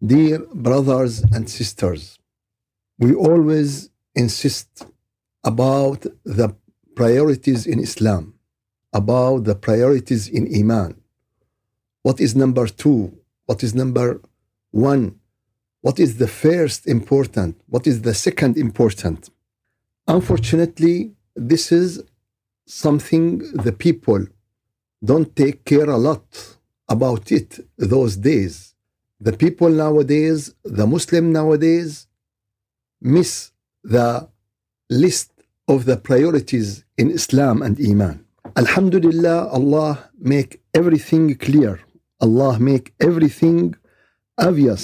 Dear brothers and sisters, we always insist about the priorities in Islam, about the priorities in Iman. What is number two? What is number one? What is the first important? What is the second important? Unfortunately, this is something the people don't take care a lot about it those days. The people nowadays, the Muslim nowadays, miss the list of the priorities in Islam and Iman. Alhamdulillah, Allah make everything clear. Allah make everything obvious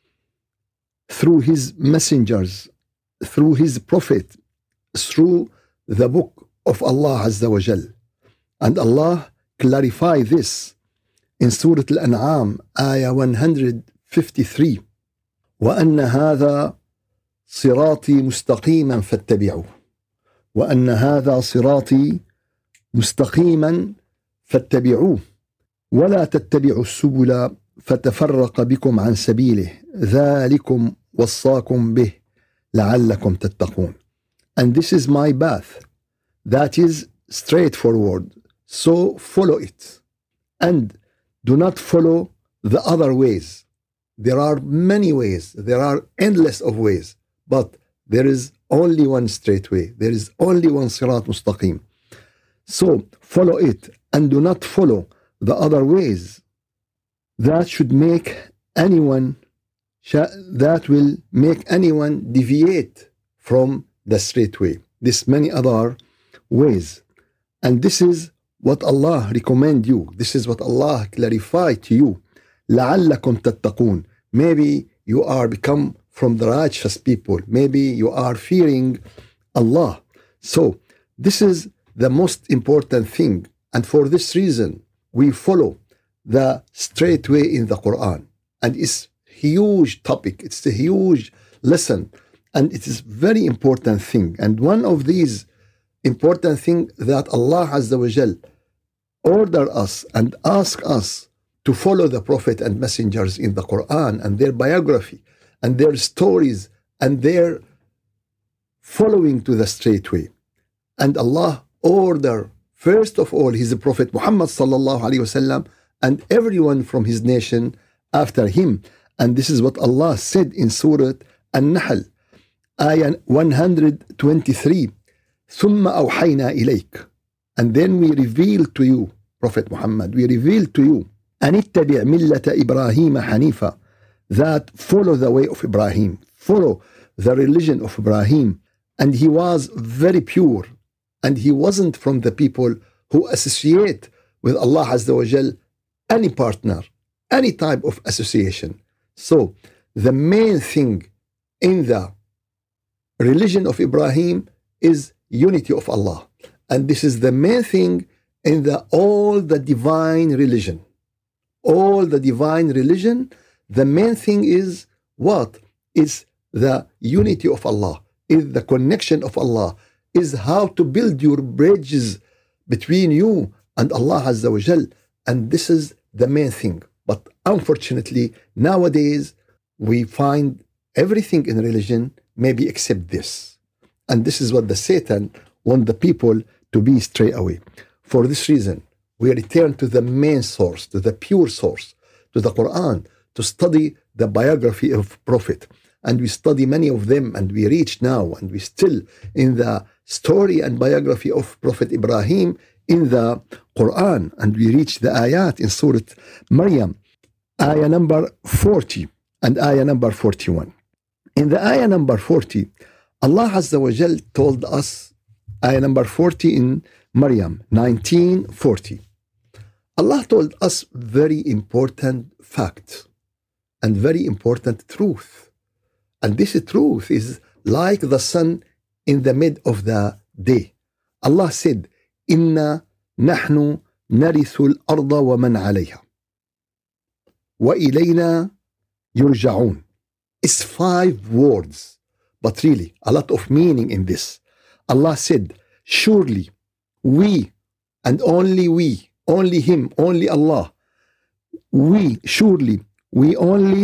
through His messengers, through His Prophet, through the book of Allah Azza wa Jal. And Allah clarify this in Surah Al-An'am, ayah 153. وَأَنَّ هَذَا صِرَاطِي مُسْتَقِيمًا فَاتَّبِعُوهُ وَأَنَّ هَذَا صِرَاطِي مُسْتَقِيمًا فَاتَّبِعُوهُ وَلَا تَتَّبِعُوا السُّبُلَ فَتَفَرَّقَ بِكُمْ عَنْ سَبِيلِهِ ذَلِكُمْ وَصَّاكُمْ بِهِ لَعَلَّكُمْ تَتَّقُونَ. And this is my path, that is straightforward, so follow it. And do not follow the other ways. There are many ways, there are endless of ways, but there is only one straight way. There is only one Sirat Mustaqim. So follow it and do not follow the other ways. That should make anyone, that will make anyone deviate from the straight way. There's many other ways. And this is what Allah recommend you. This is what Allah clarify to you. لَعَلَّكُمْ تَتَّقُونَ. Maybe you are become from the righteous people. Maybe you are fearing Allah. So this is the most important thing. And for this reason, we follow the straight way in the Quran. And it's huge topic. It's a huge lesson. And it is very important thing. And one of these important thing that Allah Azza wa Jal order us and ask us to follow the Prophet and messengers in the Quran and their biography and their stories and their following to the straight way. And Allah order first of all His Prophet Muhammad sallallahu alaihi wasallam and everyone from his nation after him. And this is what Allah said in Surah An-Nahl, ayah 123. ثُمَّ أَوْحَيْنَا إِلَيْكَ. And then we reveal to you, Prophet Muhammad, we reveal to you, أَنِ اتَّبِعْ مِلَّةَ إِبْرَاهِيمَ حَنِيفًا, that follow the way of Ibrahim, follow the religion of Ibrahim. And he was very pure, and he wasn't from the people who associate with Allah Azza wa Jal any partner, any type of association. So the main thing in the religion of Ibrahim is unity of Allah. And this is the main thing in all the divine religion. All the divine religion, the main thing is what? Is the unity of Allah, is the connection of Allah, is how to build your bridges between you and Allah Azza wa Jal. And this is the main thing. But unfortunately, nowadays, we find everything in religion maybe except this. And this is what the Satan want the people to be stray away. For this reason, we return to the main source, to the pure source, to the Quran, to study the biography of Prophet. And we study many of them, and we reach now, and we still in the story and biography of Prophet Ibrahim in the Quran. And we reach the ayat in Surah Maryam, ayah number 40 and ayah number 41. In the ayah number 40, Allah Azza wa Jal told us, ayah number 40 in Maryam 19:40. Allah told us very important fact and very important truth. And this truth is like the sun in the mid of the day. Allah said, Inna nahnu narithu al-arda wa man alayha wa ilayna yurja'un. It's 5 words, but really a lot of meaning in this. Allah said, surely we and only we, only Him, only Allah, we surely, we only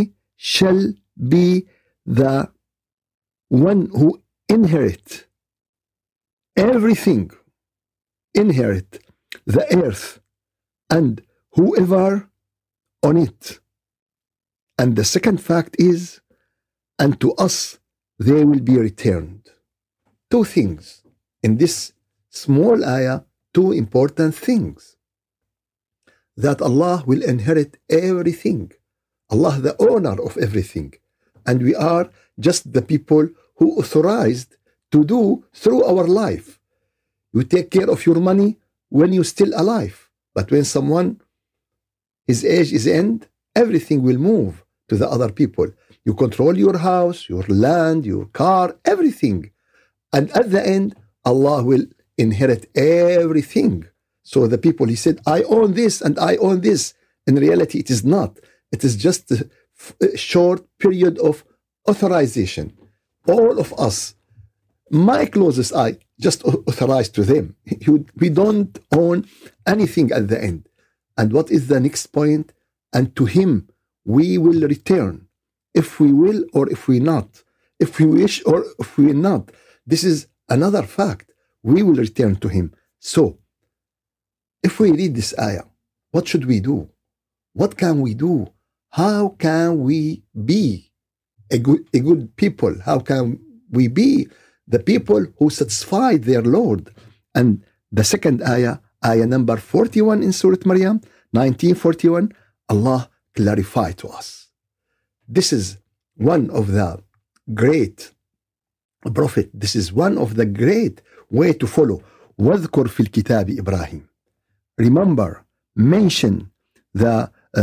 shall be the one who inherit everything, inherit the earth and whoever on it. And the second fact is, and to us they will be returned. Two things in this small ayah, two important things. That Allah will inherit everything. Allah the owner of everything. And we are just the people who authorized to do through our life. You take care of your money when you're still alive. But when someone, his age is end, everything will move to the other people. You control your house, your land, your car, everything. And at the end, Allah will inherit everything. So the people, he said, I own this and I own this. In reality, it is not. It is just a short period of authorization. All of us, my closest eye, just authorized to them. We don't own anything at the end. And what is the next point? And to him we will return, if we will or if we not, if we wish or if we not. This is another fact. We will return to him. So, if we read this ayah, what should we do? What can we do? How can we be a good people? How can we be the people who satisfied their Lord? And the second ayah, ayah number 41 in Surah Maryam, 1941, Allah clarified to us. This is one of the great prophet. This is one of the great way to follow. وَاذْكُرْ فِي الْكِتَابِ إِبْرَاهِيم. Remember, mention the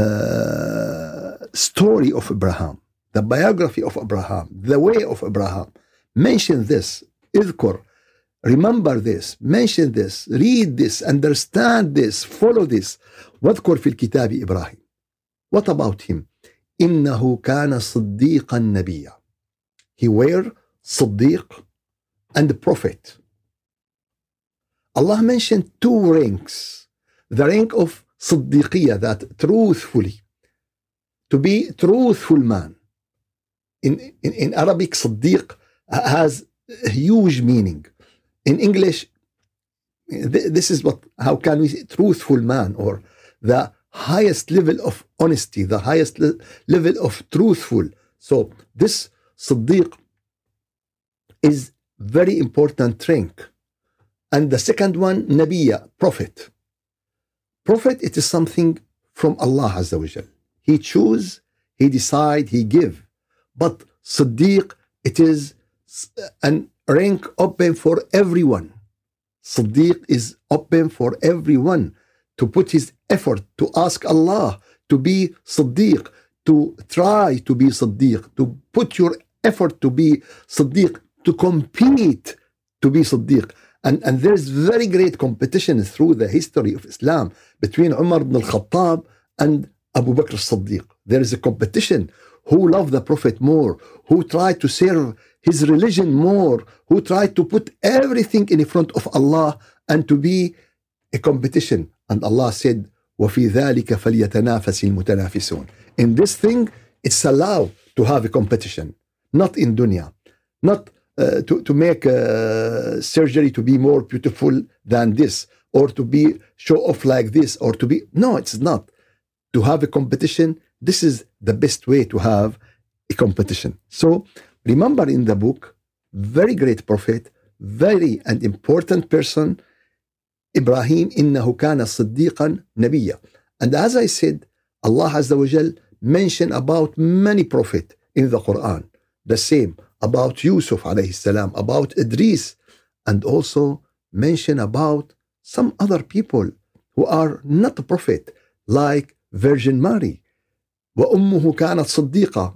story of Abraham, the biography of Abraham, the way of Abraham. Mention this. اذكر. Remember this. Mention this. Read this. Understand this. Follow this. واذكر في الكتاب إبراهيم. What about him? إنه كان صديقا نبيا. He were صديق and prophet. Allah mentioned two ranks. The rank of صديقية, that truthfully, to be truthful man. In Arabic, صديق has a huge meaning. In English, this is how can we say truthful man, or the highest level of honesty, the highest level of truthful. So this صديق is very important rank. And the second one, Nabiya, prophet. Prophet, it is something from Allah Azza wa Jal. He choose, he decide, he give. But Siddiq, it is an rank open for everyone. Siddiq is open for everyone to put his effort, to ask Allah to be Siddiq, to try to be Siddiq, to put your effort to be Siddiq, to compete to be Siddiq. And there's very great competition through the history of Islam between Umar ibn al-Khattab and Abu Bakr as-Siddiq. There is a competition. Who loved the Prophet more? Who tried to serve his religion more? Who tried to put everything in front of Allah and to be a competition? And Allah said, وَفِي ذَلِكَ فَلْيَتَنَافَسِ الْمُتَنَافِسُونَ. In this thing, it's allowed to have a competition. Not in dunya. Not to make surgery to be more beautiful than this, or to be show off like this, or to be, no, it's not. To have a competition, this is the best way to have a competition. So remember, in the book, very great prophet, very and important person, Ibrahim, إنه كان صديقا نبيا. And as I said, Allah Azza wa Jal mentioned about many prophets in the Quran. The same about Yusuf alayhi salam, about Idris, and also mention about some other people who are not a prophet, like Virgin Mary. وأمه كانت صديقة,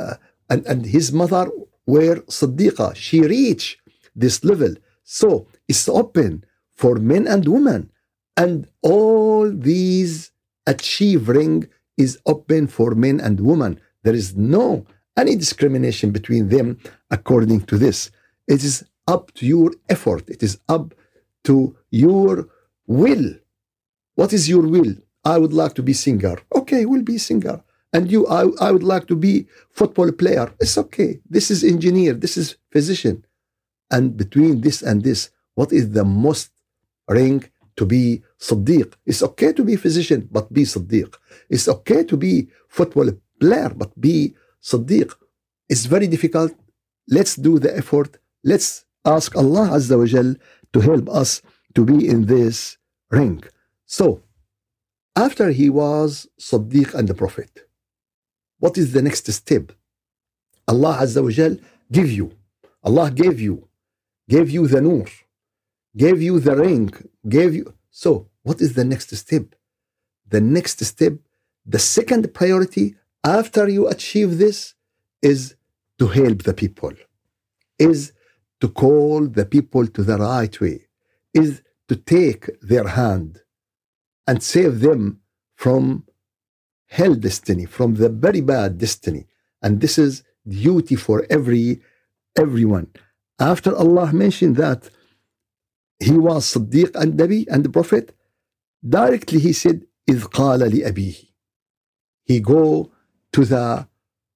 and his mother were صديقة. She reached this level. So it's open for men and women, and all these achieving is open for men and women. There is no any discrimination between them according to this. It is up to your effort. It is up to your will. What is your will? I would like to be singer. Okay, we'll be singer. And you, I would like to be football player. It's okay. This is engineer. This is physician. And between this and this, what is the most ring? To be Siddiq. It's okay to be physician, but be Siddiq. It's okay to be football player, but be Siddiq. It's very difficult. Let's do the effort. Let's ask Allah Azza wa Jal to help us to be in this ring. So, after he was Siddiq and the Prophet, what is the next step? Allah Azza wa Jal Allah gave you the nur, gave you the ring, gave you. So, what is the next step? The next step, the second priority after you achieve this is to help the people, is to call the people to the right way, is to take their hand and save them from hell destiny, from the very bad destiny. And this is duty for everyone. After Allah mentioned that he was Siddiq and Nabi and the Prophet, directly he said, إِذْ قَالَ لِأَبِيهِ. He go to the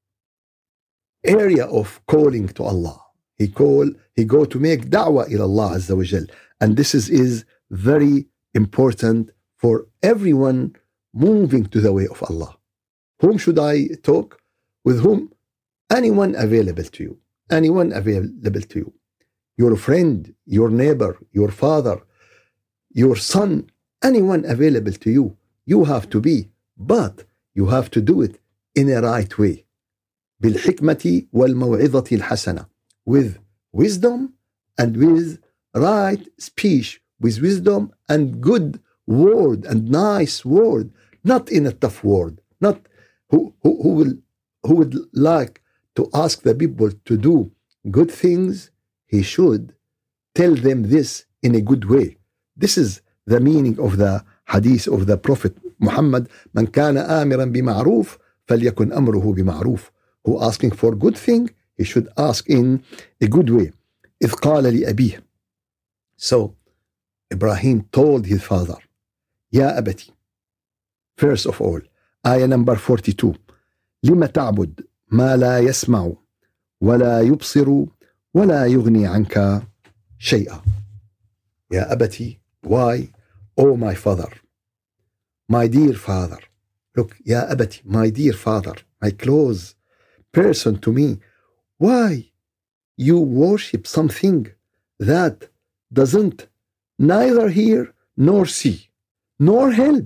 area of calling to Allah. He go to make da'wah ila Allah Azza wa Jal. And this is very important for everyone moving to the way of Allah. Whom should I talk? With whom? Anyone available to you. Anyone available to you. Your friend, your neighbor, your father, your son, anyone available to you. You have to be, but you have to do it in a right way. بالحكمة والموعظة الحسنة. With wisdom and with right speech, with wisdom and good word and nice word, not in a tough word, not who would like to ask the people to do good things. He should tell them this in a good way. This is the meaning of the hadith of the Prophet Muhammad. من كان آمرا بمعروف فليكن أمره بمعروف. Who asking for good thing, he should ask in a good way. إذ قال لأبيه. So Ibrahim told his father, يا أبتي. First of all, ayah number 42. لما تعبد ما لا يسمع ولا يبصر ولا يغني عنك شيئا. يا أبتي, why? Oh my father, my dear father. Look, يا أبتي, my dear father, my close person to me. Why you worship something that doesn't neither hear nor see, nor help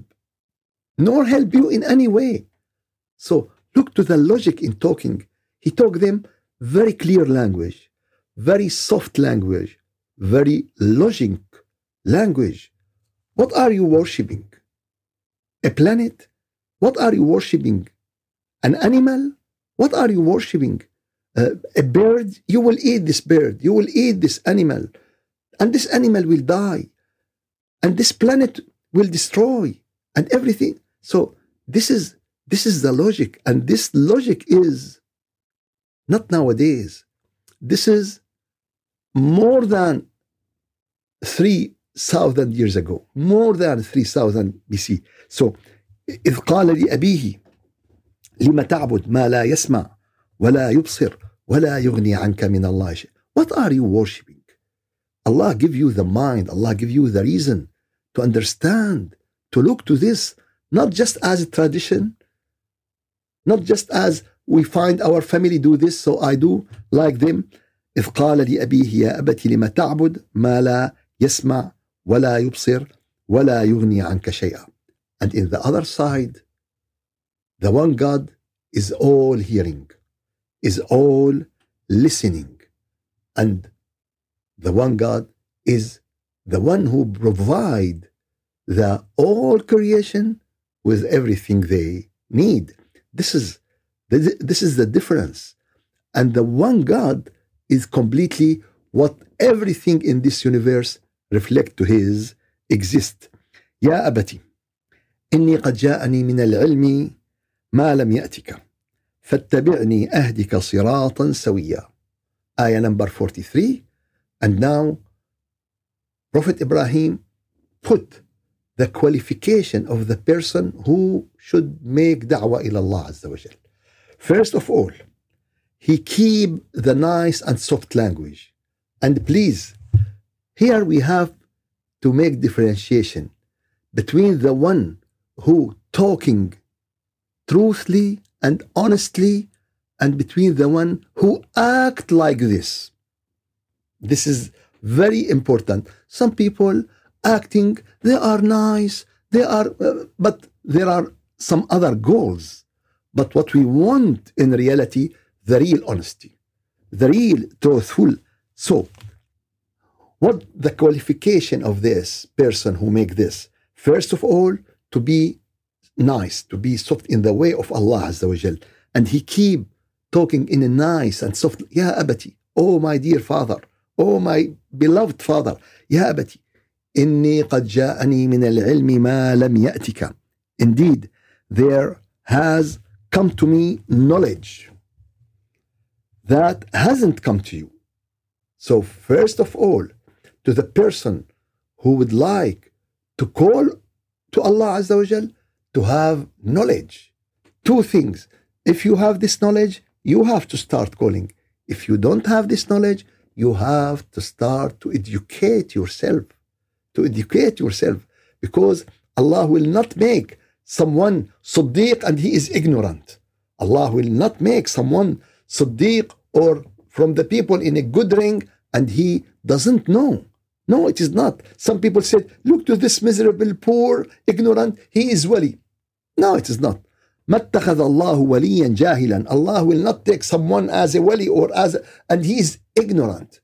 you in any way? So look to the logic in talking. He talked them very clear language, very soft language, very logic language. What are you worshipping? A planet? What are you worshipping? An animal? What are you worshipping? A bird? You will eat this bird. You will eat this animal. And this animal will die. And this planet will destroy. And everything. So this is the logic. And this logic is not nowadays. This is more than 3,000 years ago. More than 3,000 BC. So إذ قال لأبيه لما تعبد ما لا يسمع ولا يبصر ولا يغني عنك من الله شيء. What are you worshipping? Allah give you the mind. Allah give you the reason to understand, to look to this, not just as a tradition, not just as we find our family do this, so I do like them. إذ قال لأبيه يا أبت لما تعبد ما لا يسمع ولا يبصر ولا يغني عنك شيئا. And in the other side, the one God is all hearing, is all listening. And the one God is the one who provide the all creation with everything they need. This is the difference. And the one God is completely what everything in this universe reflect to his exist. يا أبتي إني قد جاءني من العلم ما لم يأتك فاتبعني أهدك صراطا سويا. Ayah number 43. And now Prophet Ibrahim put the qualification of the person who should make da'wah ila Allah Azza wa Jal. First of all, he keep the nice and soft language. And please, here we have to make differentiation between the one who talking truthfully and honestly and between the one who act like this. This is very important. Some people acting, they are nice, but there are some other goals. But what we want in reality, the real honesty, the real truthful. So, what the qualification of this person who make this? First of all, to be nice, to be soft in the way of Allah Azza wa Jal. And he keep talking in a nice and soft, Ya abati, oh my dear father, oh my beloved father, Ya abati, inni qad ja'ani min al-ilmi ma lam ya'tika. Indeed, there has come to me knowledge that hasn't come to you. So first of all, to the person who would like to call to Allah Azza wa Jal, to have knowledge. Two things. If you have this knowledge, you have to start calling. If you don't have this knowledge, you have to start to educate yourself. To educate yourself. Because Allah will not make someone Siddiq and he is ignorant. Allah will not make someone Siddiq or from the people in a good ring and he doesn't know. No, it is not. Some people said, look to this miserable, poor, ignorant, he is wali. No, it is not. ما اتخذ الله وليا جاهلا. Allah will not take someone as a wali or and he is ignorant.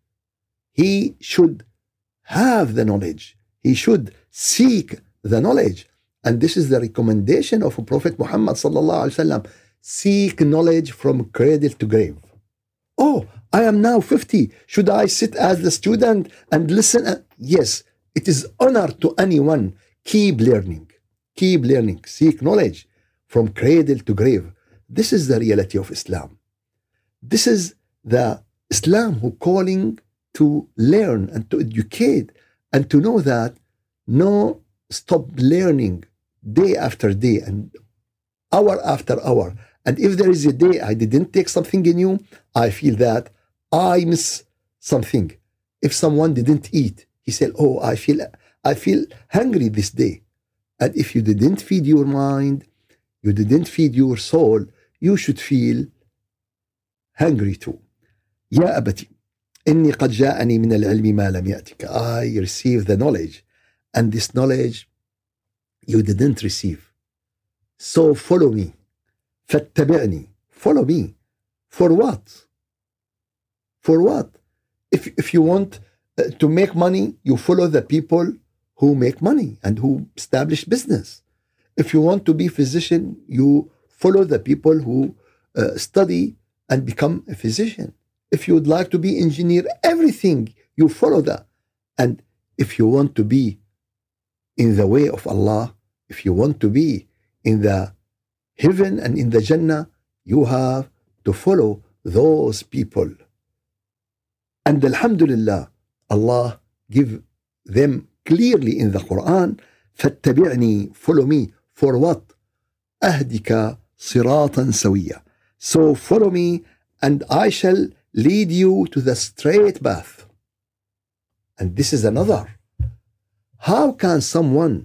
He should have the knowledge. He should seek the knowledge. And this is the recommendation of Prophet Muhammad sallallahu alaihi wasallam. Seek knowledge from cradle to grave. Oh, I am now 50. Should I sit as the student and listen? Yes, it is honor to anyone. Keep learning. Keep learning. Seek knowledge from cradle to grave. This is the reality of Islam. This is the Islam who calling to learn and to educate and to know that no stop learning day after day and hour after hour. And if there is a day I didn't take something new, I feel that I miss something. If someone didn't eat, he said, oh, I feel hungry this day. And if you didn't feed your mind, you didn't feed your soul, you should feel hungry too. Ya abati, inni qad ja'ani min al-ilmi ma lam ya'tika. I received the knowledge, and this knowledge you didn't receive. So follow me. فاتبعني. Follow me. For what? For what? If you want to make money, you follow the people who make money and who establish business. If you want to be physician, you follow the people who study and become a physician. If you would like to be engineer, everything, you follow that. And if you want to be in the way of Allah, if you want to be in the heaven and in the Jannah, you have to follow those people. And Alhamdulillah, Allah give them clearly in the Quran, فَاتَّبِعْنِي, follow me. For what? أَهْدِكَ صِرَاطًا سَوِيًّا. So follow me and I shall lead you to the straight path. And this is another. How can someone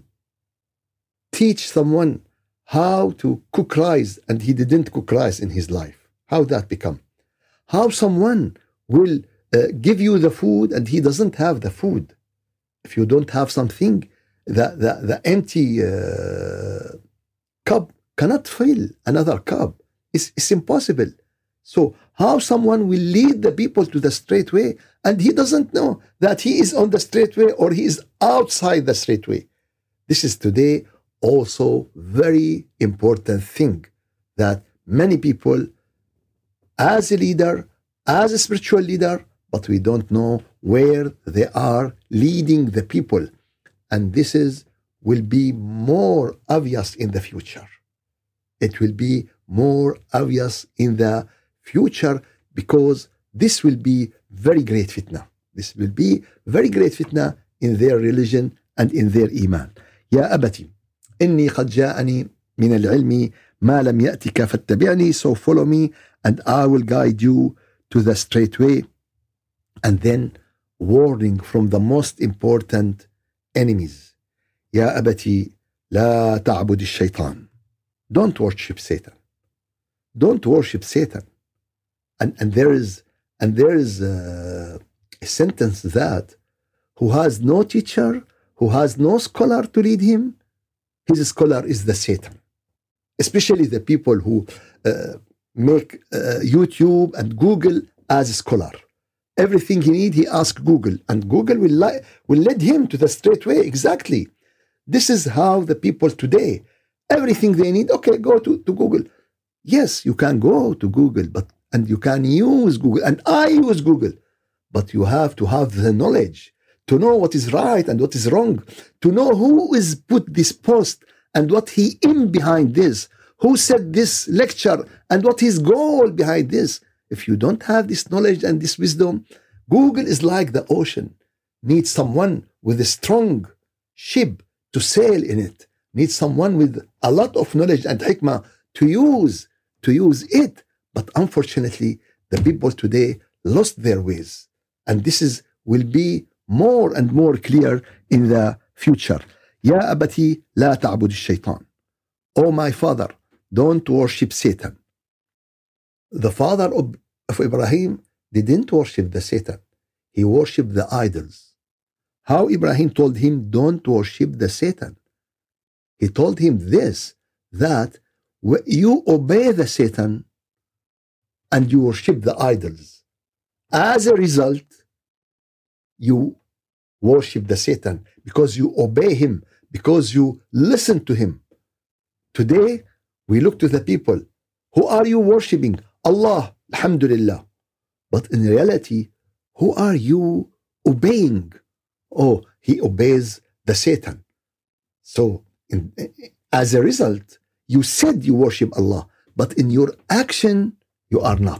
teach someone how to cook rice and he didn't cook rice in his life? How that become? How someone will give you the food and he doesn't have the food? If you don't have something, the empty cup cannot fill another cup. It's impossible. So how someone will lead the people to the straight way and he doesn't know that he is on the straight way or he is outside the straight way? This is today also very important thing that many people as a leader, as a spiritual leader, but we don't know where they are leading the people. And this will be more obvious in the future. It will be more obvious in the future because this will be very great fitna. This will be very great fitna in their religion and in their iman. يا أبتي إني قد جاءني من العلم ما لم يأتك فاتبعني, so follow me and I will guide you to the straight way. And then warning from the most important enemies. يا أبتي لا تعبد الشيطان. Don't worship Satan. Don't worship Satan. And there is a sentence that who has no teacher, who has no scholar to lead him, his scholar is the Satan. Especially the people who make YouTube and Google as a scholar. Everything he need, he asks Google, and Google will lead him to the straight way. Exactly. This is how the people today, everything they need, okay, go to Google. Yes, you can go to Google, and you can use Google, and I use Google, but you have to have the knowledge to know what is right and what is wrong, to know who is put this post and what he in behind this, who said this lecture and what his goal behind this. If you don't have this knowledge and this wisdom, Google is like the ocean. Needs someone with a strong ship to sail in it. Needs someone with a lot of knowledge and hikmah to use it. But unfortunately, the people today lost their ways. And this will be more and more clear in the future. يا أبتي لا تعبد الشيطان. Oh my father, don't worship Satan. The father of Ibrahim didn't worship the Satan. He worshipped the idols. How Ibrahim told him, don't worship the Satan. He told him this, that you obey the Satan and you worship the idols. As a result, you worship the Satan because you obey him, because you listen to him. Today, we look to the people. Who are you worshiping? Allah, alhamdulillah. But in reality, who are you obeying? Oh, he obeys the Satan. So, as a result, you said you worship Allah, but in your action, you are not.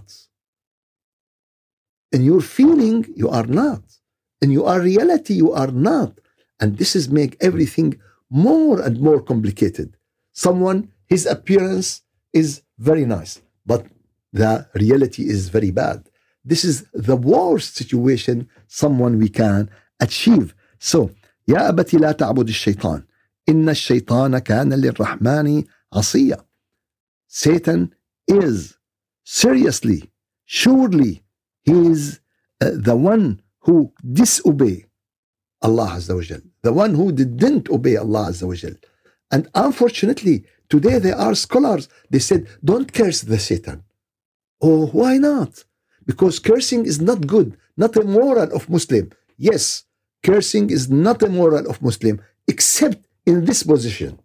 In your feeling, you are not. In your reality, you are not. And this is make everything more and more complicated. Someone, his appearance is very nice, but the reality is very bad. This is the worst situation someone we can achieve. So, يا أبتي لا تعبد الشيطان. إن الشيطان كان للرحمن عصيا. Satan is seriously, surely, he is the one who disobey Allah Azza wa Jal, the one who didn't obey Allah Azza wa Jal. And unfortunately, today there are scholars, they said, don't curse the Satan. Oh, why not? Because cursing is not good, not a moral of Muslim. Yes, cursing is not a moral of Muslim, except in this position.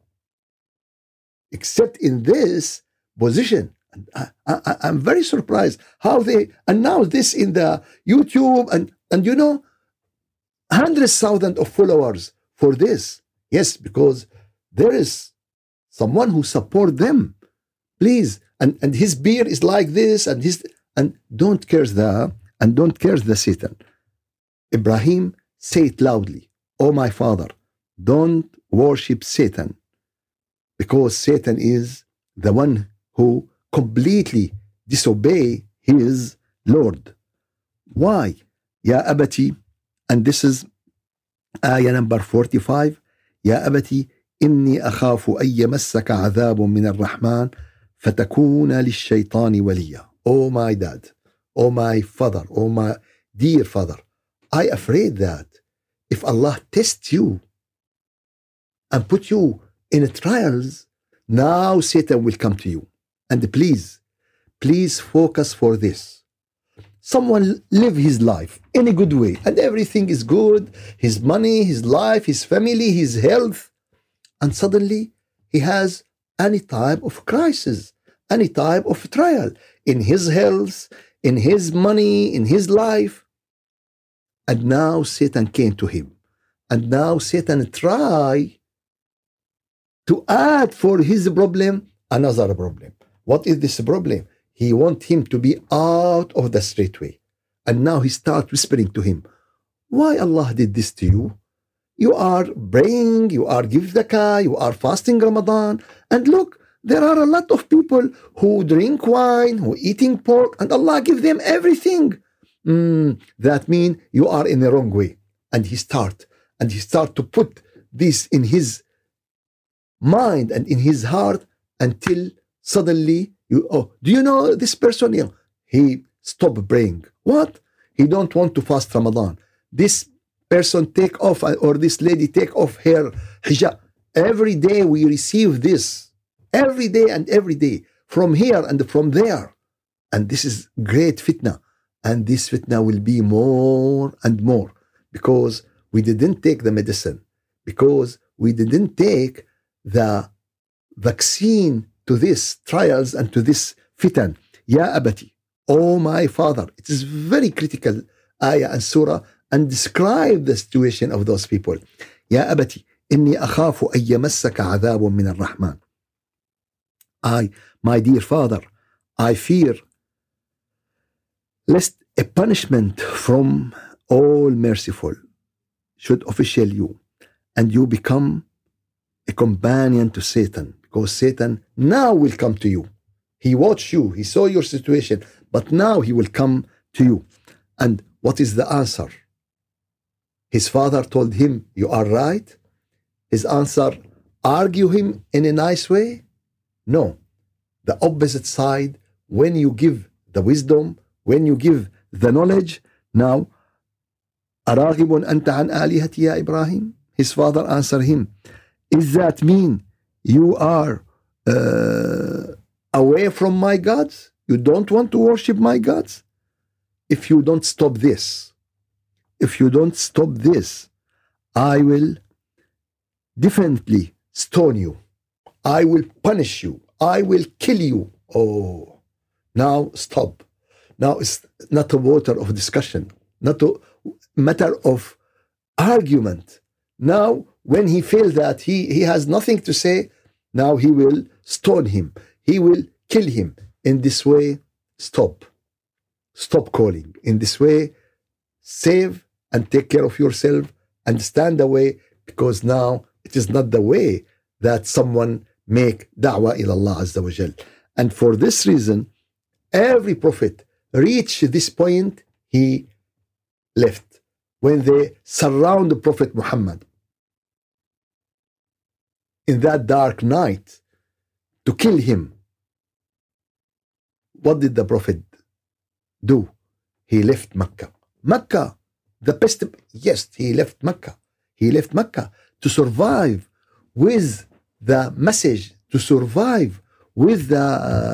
Except in this position. And I'm very surprised how they announce this in the YouTube and you know, hundreds of thousands of followers for this. Yes, because there is someone who support them. Please, and his beard is like this, and don't curse the Satan. Ibrahim, say it loudly. Oh my father, don't worship Satan, because Satan is the one who completely disobey his Lord. Why? Ya abati, and this is ayah number 45. Ya abati, إني أخاف أن يمسك عذاب من الرحمن فتكون للشيطان وليا. Oh my dad, oh my father, oh my dear father, I afraid that if Allah tests you and put you in trials, now Satan will come to you. And please focus for this. Someone live his life in a good way and everything is good, his money, his life, his family, his health, and suddenly he has any type of crisis, any type of trial in his health, in his money, in his life. And now Satan came to him. And now Satan try to add for his problem another problem. What is this problem? He wants him to be out of the straight way. And now he starts whispering to him, why Allah did this to you? you are praying, you are give zakah, you are fasting Ramadan, and look, there are a lot of people who drink wine, who eating pork, and Allah give them everything. That means you are in the wrong way. And he start to put this in his mind and in his heart until suddenly do you know this person? He stopped praying. What? He don't want to fast Ramadan. This person take off, or this lady take off her hijab. Every day we receive this. Every day and every day. From here and from there. And this is great fitna. And this fitna will be more and more. Because we didn't take the medicine. Because we didn't take the vaccine to this trials and to this fitan. Ya abati, oh my father. It is very critical ayah and surah, and describe the situation of those people. Ya abati, inni akhafu an yamassaka adhabun min ar-Rahman. My dear father, I fear lest a punishment from all merciful should official you, and you become a companion to Satan, because Satan now will come to you. He watched you, he saw your situation, but now he will come to you. And what is the answer? His father told him, you are right. His answer, argue him in a nice way? No. The opposite side, when you give the wisdom, when you give the knowledge, now, أراغب أنت عن آلهتي يا إبراهيم? His father answered him, is that mean you are away from my gods? You don't want to worship my gods? If you don't stop this, I will definitely stone you. I will punish you. I will kill you. Oh, now stop. Now it's not a matter of discussion, not a matter of argument. Now, when he feels that he has nothing to say, now he will stone him. He will kill him. In this way, stop. Stop calling. In this way, save and take care of yourself and stand away, because now it is not the way that someone make da'wah ila Allah Azza wa Jal. And for this reason, every prophet reached this point, he left. When they surround the Prophet Muhammad in that dark night to kill him, what did the Prophet do? He left Mecca. Mecca, the best. Yes, he left Mecca. He left Mecca to survive with the message, to survive with the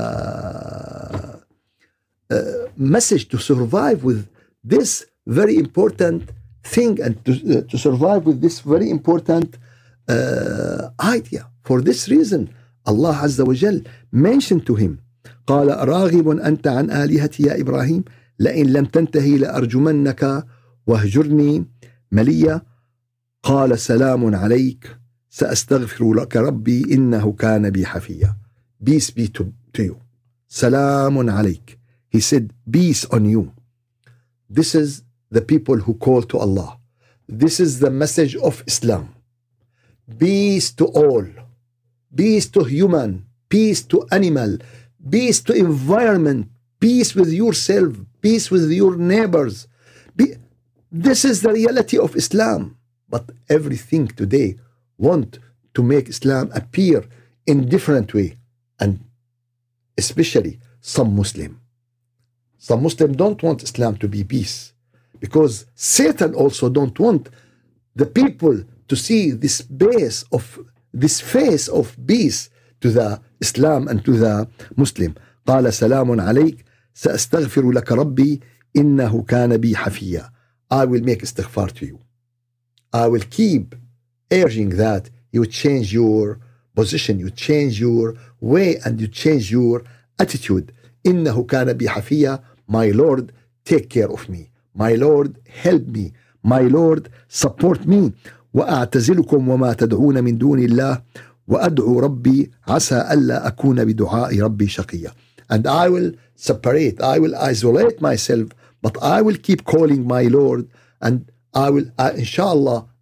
message, to survive with this very important thing, and to survive with this very important idea. For this reason, Allah Azza wa Jal mentioned to him, قال أراغب أنت عن آلهتي يا إبراهيم لئن لم تنتهي لأرجمنك واهجرني مليا قال سلام عليك سأستغفر لك ربي إنه كان بي حفيا. Peace be to you. سلام عليك. He said, peace on you. This is the people who call to Allah. This is the message of Islam. Peace to all. Peace to human. Peace to animal. Peace to environment. Peace with yourself. Peace with your neighbors. This is the reality of Islam. But everything today want to make Islam appear in different way. And especially some Muslim. Some Muslims don't want Islam to be peace, because Satan also don't want the people to see this face of peace to the Islam and to the Muslim. قال سلام عليك سأستغفر لك ربي إنه كان بي حفيا. I will make istighfar to you. I will keep urging that you change your position, you change your way, and you change your attitude. إنه كان بي حفيا. My Lord, take care of me. My Lord, help me. My Lord, support me. وأعتزلكم وما تدعون من دون الله وأدعو ربي عسى ألا أكون بدعاء ربي شقيا. And I will separate, I will isolate myself, but I will keep calling my Lord, and I will, inshallah,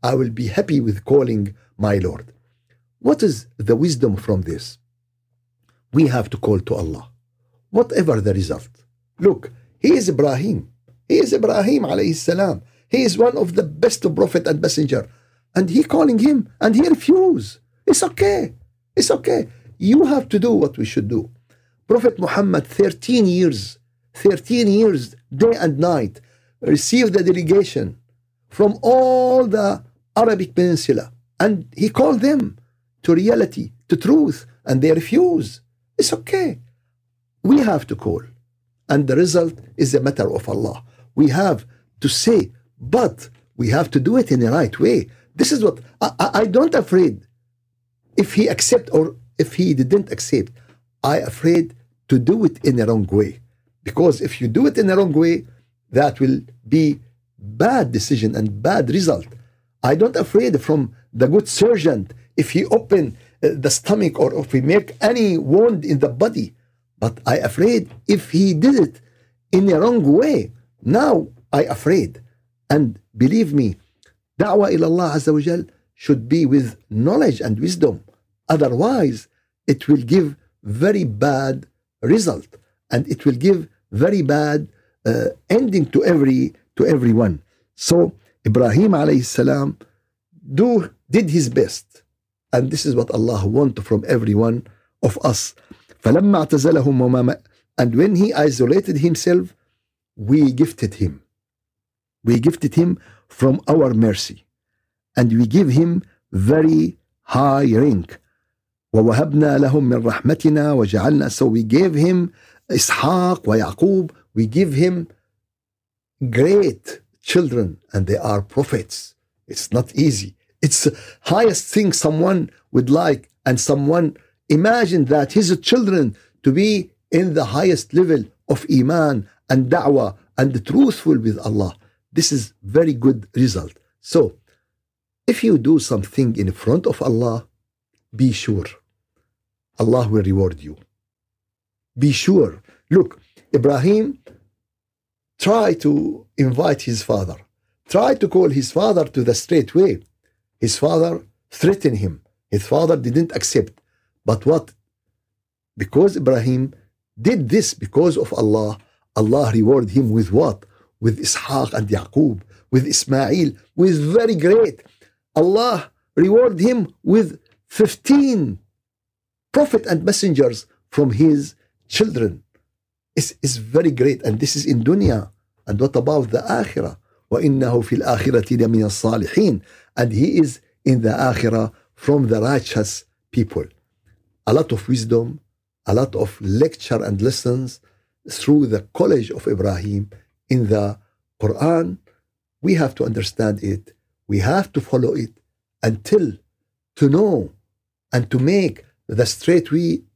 I will be happy with calling my Lord. What is the wisdom from this? We have to call to Allah, whatever the result. Look, he is Ibrahim. He is Ibrahim alayhi salam. He is one of the best prophet and messenger. And he calling him and he refused. It's okay. It's okay. You have to do what we should do. Prophet Muhammad, 13 years, day and night, received the delegation from all the Arabic Peninsula. And he called them to reality, to truth, and they refuse. It's okay. We have to call. And the result is a matter of Allah. We have to say, but we have to do it in the right way. This is what I don't afraid if he accept or if he didn't accept. I afraid to do it in the wrong way. Because if you do it in the wrong way, that will be bad decision and bad result. I don't afraid from the good surgeon if he open the stomach or if he make any wound in the body. But I afraid if he did it in the wrong way. Now I afraid. And believe me, da'wah ila Allah Azza wa Jal should be with knowledge and wisdom. Otherwise, it will give very bad result. And it will give very bad ending to everyone. So Ibrahim alayhi salam did his best. And this is what Allah wants from every one of us. فَلَمَّا اعْتَزَلَهُمْ وَمَا. And when he isolated himself, we gifted him. We gifted him from our mercy. And we give him very high rank. وَوَهَبْنَا لَهُمْ مِنْ رَحْمَتِنَا وَجَعَلْنَا. So we gave him Ishaq wa Yaqub. We give him great children, and they are prophets. It's not easy. It's the highest thing someone would like, and someone imagine that his children to be in the highest level of iman and da'wah and truthful with Allah. This is very good result. So if you do something in front of Allah, be sure Allah will reward you. Be sure. Look, Ibrahim tried to invite his father, tried to call his father to the straight way. His father threatened him. His father didn't accept. But what? Because Ibrahim did this because of Allah, Allah rewarded him with what? With Ishaq and Yaqub, with Ismail, with very great. Allah rewarded him with 15 prophet and messengers from his children. It's very great, and this is in dunya. And what about the akhirah? وَإِنَّهُ فِي الْآخِرَةِ لَمِنَ الصَّالِحِينَ. And he is in the akhirah from the righteous people. A lot of wisdom, a lot of lecture and lessons through the college of Ibrahim in the Quran. We have to understand it. We have to follow it until to know and to make the straight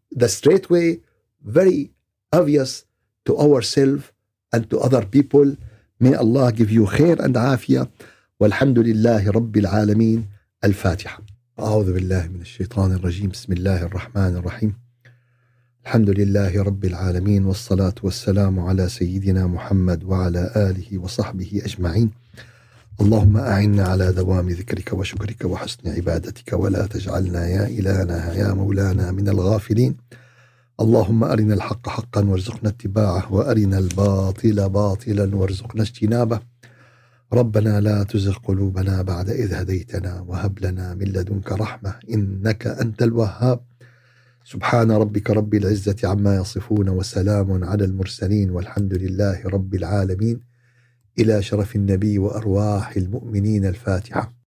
way very obvious to ourselves and to other people. May Allah give you khair and afiyah. والحمد لله رب العالمين. الفاتحة. أعوذ بالله من الشيطان الرجيم. بسم الله الرحمن الرحيم. الحمد لله رب العالمين، والصلاة والسلام على سيدنا محمد وعلى آله وصحبه أجمعين. اللهم أعنا على دوام ذكرك وشكرك وحسن عبادتك، ولا تجعلنا يا إلهنا يا مولانا من الغافلين. اللهم أرنا الحق حقا وارزقنا اتباعه، وأرنا الباطل باطلا وارزقنا اجتنابه. ربنا لا تزغ قلوبنا بعد إذ هديتنا، وهب لنا من لدنك رحمة إنك أنت الوهاب. سبحان ربك رب العزة عما يصفون، وسلام على المرسلين، والحمد لله رب العالمين. إلى شرف النبي وأرواح المؤمنين. الفاتحة.